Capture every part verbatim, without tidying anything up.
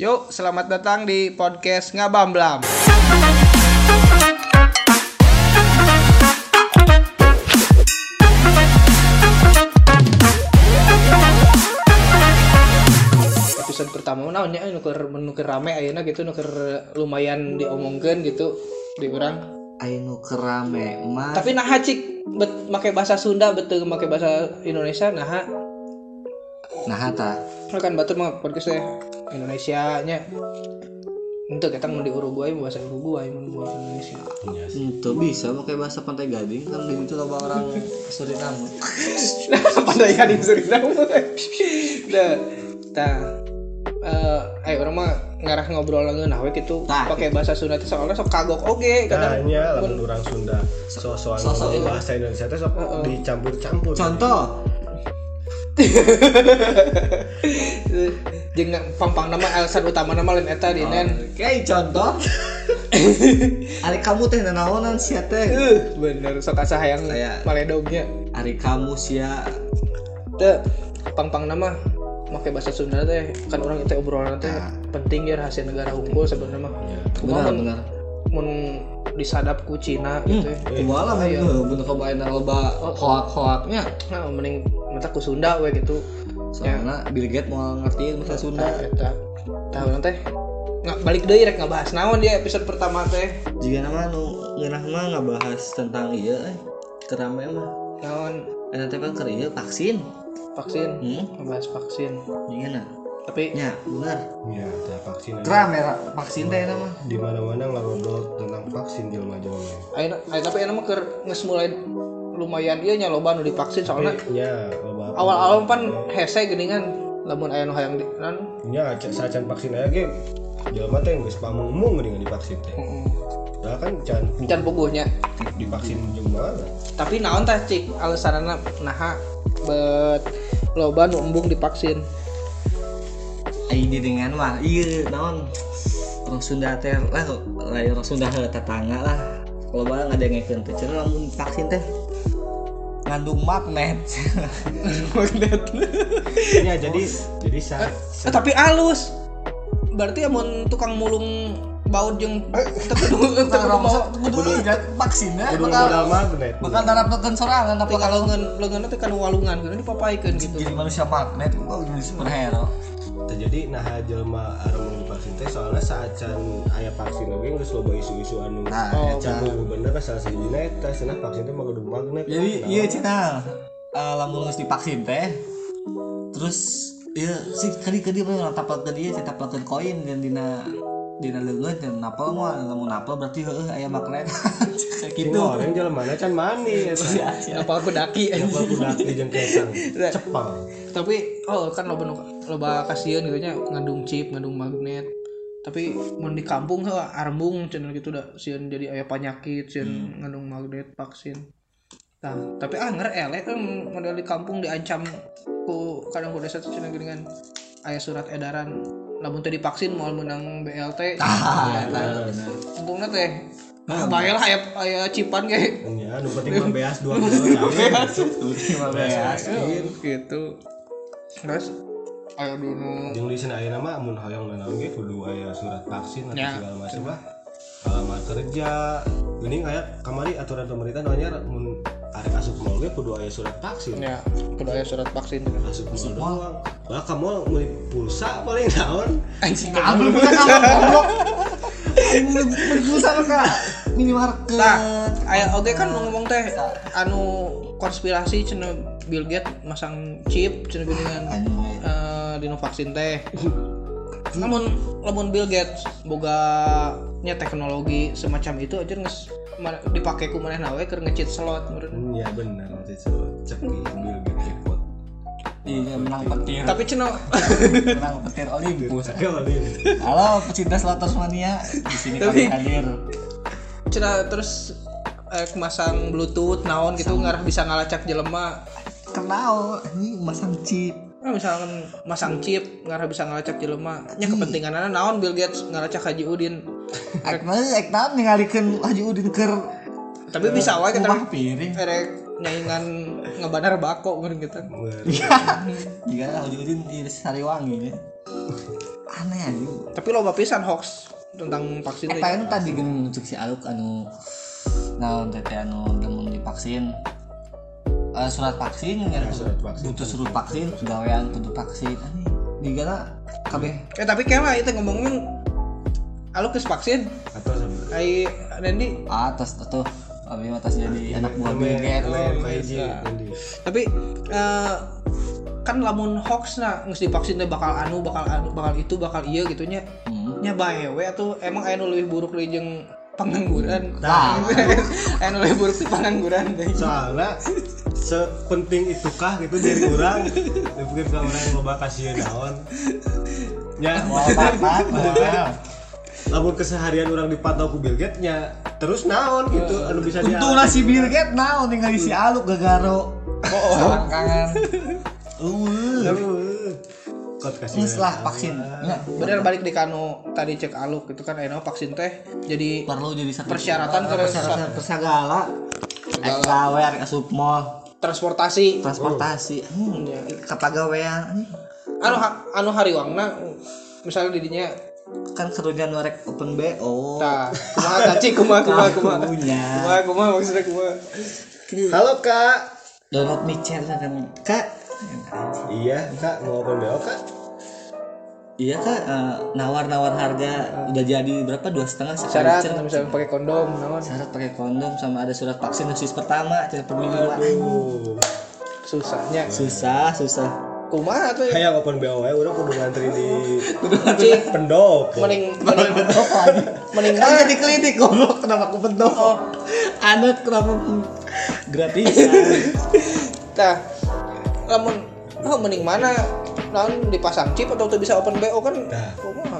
Yuk, selamat datang di podcast Ngabamblam. Episode pertama naonnya nuker nuker rame ayeuna gitu, nuker lumayan diomongkeun gitu di urang. Ayeuna nuker rame mah. Tapi naha cik bet make bahasa Sunda betul make bahasa Indonesia naha. Naha ta. Kan batur mah podcast teh Indonesia nya. Untuk kita mau di Uruguay bahasa Uruguay mau bahasa Indonesia. Itu bisa pakai bahasa Pantai Gading kan di situ loba orang Suriname. Pantai Gading Suriname. Dah. Tah. Eh, ayo orang mah ngarah ngobrol ngeunah we kitu pakai bahasa Sunda teh soalnya sok kagok oge kadang. Tanya lamun urang Sunda so-soan bahasa Indonesia teh sok uh, uh. dicampur-campur. Contoh. Jeung pampang nama alasan utama nama lain eta dinen. Oke, contoh. Ari kamu teh nanaonan sia teh? Uh, bener sok asa hayang maledognya. Ari kamu sia teh pampang nama make bahasa Sunda teh kan orang itu obrolan teh nah. Penting ya rahasia negara unggul sebenarnya mah. Ya, benar benar. Mun disadap ku Cina gitu. Hmm, kumaha lah bener kebaean loba hoak-hoaknya. Nah, mending mata ku Sunda we gitu. Soalnya ya. Bill Gates mau ngertiin bahasa Sunda eta. Tahu teh nggak balik deui rek ngabahas naon dia episode pertama teh. Jiga nama nu ngeunah mah ngabahas tentang ieu eh kerame mah. Naon? Eta teh kan keur ieu vaksin. Vaksin. Hmm? Ngabahas vaksin. Gimana? Tapi ya benar. Ya, teh vaksin. Kerame vaksin teh eta mah. Di mana-mana ngobrol tentang vaksin jelema-jelema. Ayeuna tapi ayeuna mah keur geus mulai lumayan ieu nya loba nu divaksin soalnya. Ya, loba. Awal-awal pan hese geuningan lamun aya nu hayang di nan. Nya sacan vaksin aya ge jelema teh geus pamung-mung geuningan divaksin teh. Heeh. Lah kan can can puguhnya divaksin jeung mana. Tapi naon tah cik alasanna naha bet loba nu embung divaksin. Ai dengan mah ieu naon orang Sunda teh lah lain orang Sunda tetangga lah loba ngadengekeun teh cenah lamun vaksin teh ngandung magnet. Magnet. Ya jadi jadi sa, sa. Eh, tapi halus. Berarti amun tukang mulung baut jeung tapi kudu vaksinnya kudu modal magnet. Bakal darapkeun sorangan tapi kalau leungeun leungeunna teh kan walungan kan dipapaikeun gitu. Jadi manusia magnet kok jadi superhero. Jadi nah jelema anu vaksin teh soalnya saacan aya vaksin lagi geus loba isu-isu anu can bener salah sijina eta cenah vaksin teh mah kudu magnet. Jadi ieu cenah lamun geus divaksin teh terus ieu si kadi-kadi mah tapalkeun ieu si tapalkeun koin dan dina dina leungeun dan napal mah lamun napal berarti heueuh aya magnet. Kitu orang jelemana can mani eta. Napal ku daki napal ku daki jeung kesang cepang. Tapi oh kan loba loba kasieun gitu nya ngandung chip, ngandung magnet. Tapi mun di kampung heuh arembung cenah gitu da sieun jadi aya penyakit sieun hmm. ngandung magnet vaksin. Nah, tapi ah ngere elek kan model di kampung diancam ku kadang ku desa cenah geuningan aya surat edaran lamun teu divaksin moal meunang B L T. Ah, untungna teh bae lah aya aya cipan ge. Nya nu penting mah beas dua kilo lima beas gitu. Terus ayo dulu jeung di sana ayeuna mah mun hoyong nanaon ge kudu aya surat vaksin atau segala macam lah. Alamat kerja geuning aya kamari aturan pemerintah nu anyar mun arek asup mall ge kudu aya surat vaksin. Ya, kudu aya surat vaksin. Asup mall doang. Lah kamu meuli pulsa paling naon? Anjing kabel bukan kabel goblok. Ini pulsa ka minimarket. Nah, aya oge kan ngomong teh anu konspirasi cenah Bill Gates masang chip cenah geuningan eh dina vaksin teh. Namun lamun Bill Gates boga nya teknologi semacam itu aja geus dipake ku manehna we keur nge-cheat slot meureun. Iya bener nge-cheat slot. Cek Bill Gates jackpot. Iya menang petir. Tapi cenah menang petir Olympus. Halo pecinta Slotters Mania di sini kami hadir. Cenah terus eh, masang bluetooth naon gitu ngarah bisa ngalacak jelema. Kenal ini masang chip. Nah, misalkan masang chip ngarah bisa ngalacak jelema. Nya kepentinganana naon Bill Gates ngalacak Haji Udin. Ek mah ek naon ningalikeun Haji Udin keur tapi bisa wae kita piring. Erek nyaingan ngebanar bako meureun gitu. Iya. Jika Haji Udin di Sariwangi ya. aneh aja. Tapi loba pisan hoax tentang vaksin teh. Eta anu tadi geus untuk si Aluk anu naon teh anu lamun divaksin. Uh, surat vaksin ya, surat vaksin. butuh surat vaksin gawean kudu vaksin aneh digana kabeh. Eh tapi kayaknya itu ngomongin Aluk geus vaksin. Atau sama. Ai Randy Atas tuh abi atas jadi anak buah Bill Gates. Tapi uh, kan lamun hoax nah geus divaksin teh bakal anu bakal anu bakal itu bakal iya gitunya. Hmm. Nya bae we atuh emang aya nu leuwih buruk deui jeung pengangguran. Nah, aya nu leuwih buruk ti pengangguran deui. Soalnya sepenting itukah gitu dari orang mungkin ke orang yang loba kasih naon nya mau bapak lamun keseharian orang dipantau ku Bill Gates nya terus naon gitu anu bisa dia untungna si Bill Gates naon tinggal si Aluk gagaro oh selangkangan uh kot kasih setelah vaksin ya bener balik di kanu tadi cek Aluk itu kan aya vaksin teh jadi perlu jadi satu persyaratan ke persyaratan persegala gawe arek asup mall transportasi transportasi hmm, kapagawean anu anu hariwangna misalnya didinya kan kerugian norek open B O tah kumaha caci kumaha kumaha kumaha kumaha kumaha maksudnya kumaha halo kak download micet kan kak iya kak mau open B O kak iya kak uh, nawar-nawar harga udah jadi berapa dua setengah syarat sekali misalnya pakai kondom naon syarat pakai kondom sama ada surat vaksin dosis pertama tidak per minggu uh susahnya susah susah kumaha tuh hayang open B O we urang kudu ngantri di cik pendopo mending mending mending kan jadi klinik goblok kenapa aku pendopo anak kenapa gratisan tah lamun oh mending mana naon dipasang chip atau tuh bisa open B O kan nah kumaha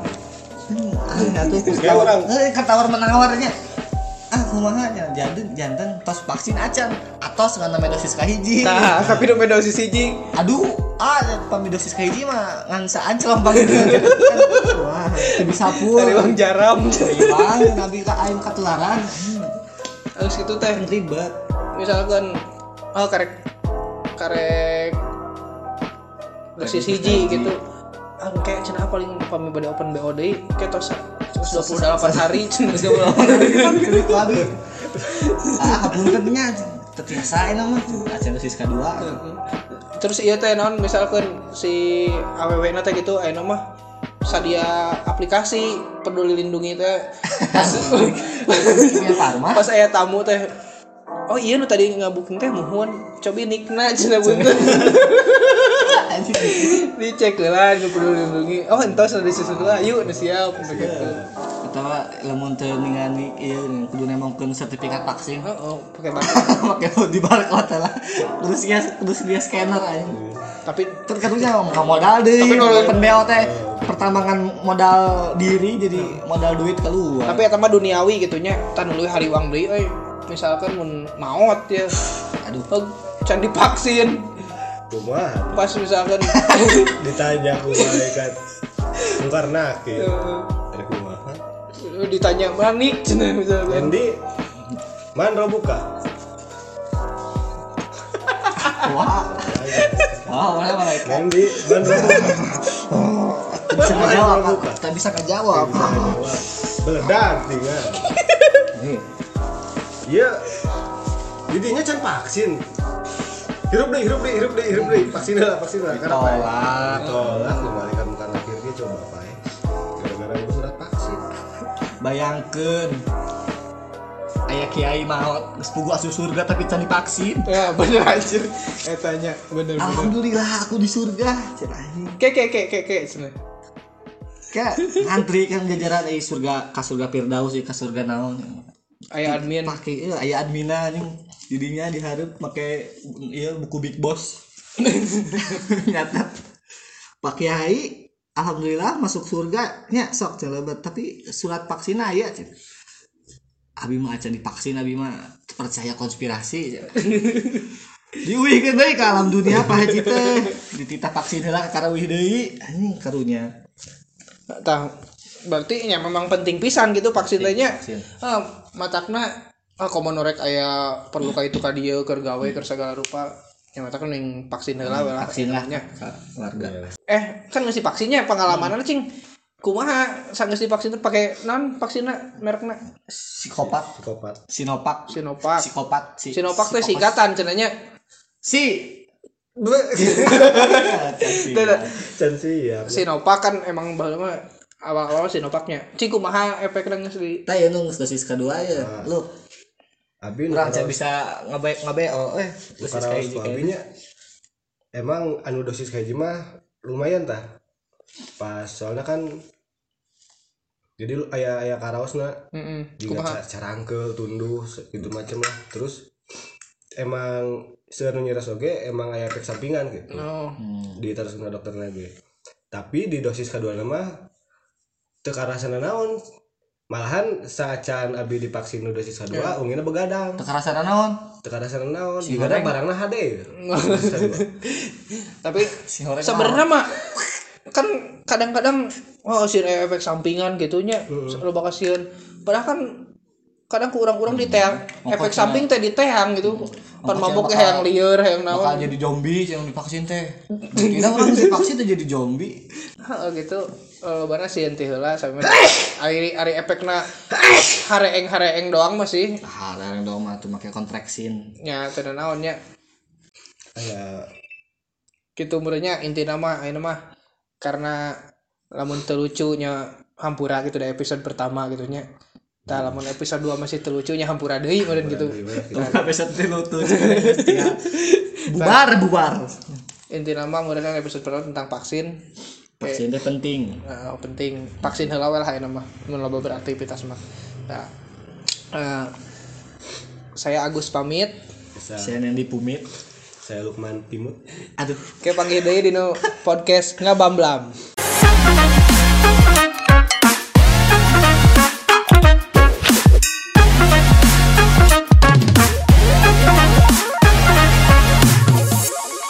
ah atuh kayak orang eh kan tawar menawarnya ah kumaha nya janten janten tos vaksin acan atos ngan namanya dosis kahiji tah tapi nu dosis hiji aduh ah pami dosis kahiji mah ngan saanclom panggil wah teu bisa pul dari uang jaram bang nabi ka aing katularan harus gitu teh ribet misalkan oh karek karek dosis hiji gitu ah kayak cenah paling pami bade open B O deui kayak tos seratus dua puluh delapan hari seratus dua puluh delapan hari lagi ah puntennya terbiasa enak mah acan dosis kedua terus iya teh naon misalkan si A W W na teh gitu aya mah sadia aplikasi peduli lindungi teh pas pas aya tamu teh oh iya nu tadi ngabuking teh muhun cobi nikna cenah bunten dicek lah nu peduli lindungi oh entos ada sesuatu lah yuk nu siap begitu atau lamun teu ningali ieu kudu nemongkeun sertifikat vaksin oh, oh pakai barcode pakai di barcode lah terus dia terus dia scanner aja tapi kan karunya nggak modal deh open B O teh pertambangan modal diri jadi modal duit keluar tapi eta mah duniawi gitunya tan leuwih hariwang deui euy misalkan mun maot ya aduh oh, can divaksin kumaha pas misalkan ditanya ku malaikat Mukarnak ya ada kumaha ditanya manik cenah misalkan Endi man robuka wah wah mana malaikat Endi man robuka bisa ngejawab tak bisa ngejawab beledak tinggal nih iya jadinya can vaksin hirup deh hirup deh hirup deh hirup deh vaksin lah vaksin lah karena apa tolak tolak malaikat bukan akhirnya coba apa ya gara-gara itu surat vaksin bayangkeun aya kiai maot geus pugu asup surga tapi can divaksin ya bener anjir etanya bener bener alhamdulillah aku di surga cenah anjing ke ke ke ke ke cenah kayak ngantri kan jajaran eh surga ka surga Firdaus ka surga naon aya admin pakai ieu aya admina anjing didinya dihareup make ieu buku Big Boss nyata Pak Kiai alhamdulillah masuk surga nya sok celebet tapi surat vaksin aya cenah abi mah acan divaksin abi mah percaya konspirasi diuwihkeun deui ka alam dunia Pak Haji teh dititah vaksin heula ka karawih deui anjing karunya tah berarti nya memang penting pisan gitu vaksin teh nya ah matakna ah komo norek aya perlu ka itu ka dieu keur gawe keur sagala rupa yang mata kan yang vaksin heula Hmm, lah vaksin lah nya. keluarga. Eh kan ngisi vaksinnya pengalaman cing kumaha sanggeus divaksin teh pake naon vaksina merekna Psikopat, psikopat Sinovac, Sinovac. psikopat, si, Sinovac teh psikopat. singkatan cenanya Si. can sih ya Sinovac kan emang baheula mah awal-awal Sinovacnya cing kumaha efekna geus di Tah ya nu dosis kedua ya. Lu abi urang saya bisa ngebe ngabeo eh dosis dosis kayak hiji kayak abinya emang anu dosis kayak mah lumayan tah pas soalnya kan jadi lu aya aya karaosna heeh juga kumaha carangkeul tunduh gitu macam lah terus emang seunu nyiras oge emang aya efek sampingan gitu oh Hmm. di terusna dokter lagi tapi di dosis kedua mah teu karasana naon malahan saacan abi divaksin nu dosis kedua ungina begadang Teu karasana naon? teu karasana naon Si digana horeng. barangna H D dosis kedua. tapi Si horeng sebenarnya mah kan kadang-kadang oh sih efek sampingan gitunya lo bakal sieun padahal kan kadang ku urang-urang di teang efek Pokoknya- samping teh di teang gitu pan Pokoknya mabuk bakal- hayang lieur hayang bakal naon jadi zombie yang divaksin teh. Kira orang divaksin teh jadi zombie. heeh gitu lo bana sieun teh heula sampe ari ari efekna hareeng-hareeng doang masih Ah, larang dong mah tuh make kontraksin. nya teu naonnya Aya gitu meureunnya intina mah ayeuna mah karena lamun teu lucunya hampura gitu dari episode pertama gitu nya. Tah lamun episode dua masih teu lucunya hampura deui meureun gitu. Tuh episode tilu tuh ya. Bubar bubar. Intina mah meureun episode pertama tentang vaksin. Vaksin teh penting. Uh, penting vaksin heula we lah ayeuna mah mun loba beraktivitas mah. Nah, uh, saya Agus pamit. bisa Saya yang dipumit. saya Lukman Timut Aduh. Oke panggil deui dina podcast ngabamblam.